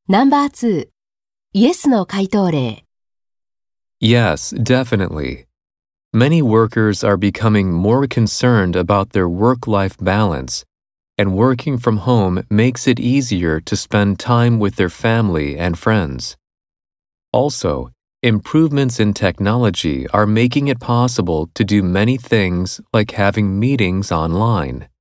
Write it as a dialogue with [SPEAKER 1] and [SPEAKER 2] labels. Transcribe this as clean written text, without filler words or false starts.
[SPEAKER 1] No.2 イエスの回答例
[SPEAKER 2] Yes, definitely. Many workers are becoming more concerned about their work-life balance, and working from home makes it easier to spend time with their family and friends. Also, improvements in technology are making it possible to do many things like having meetings online.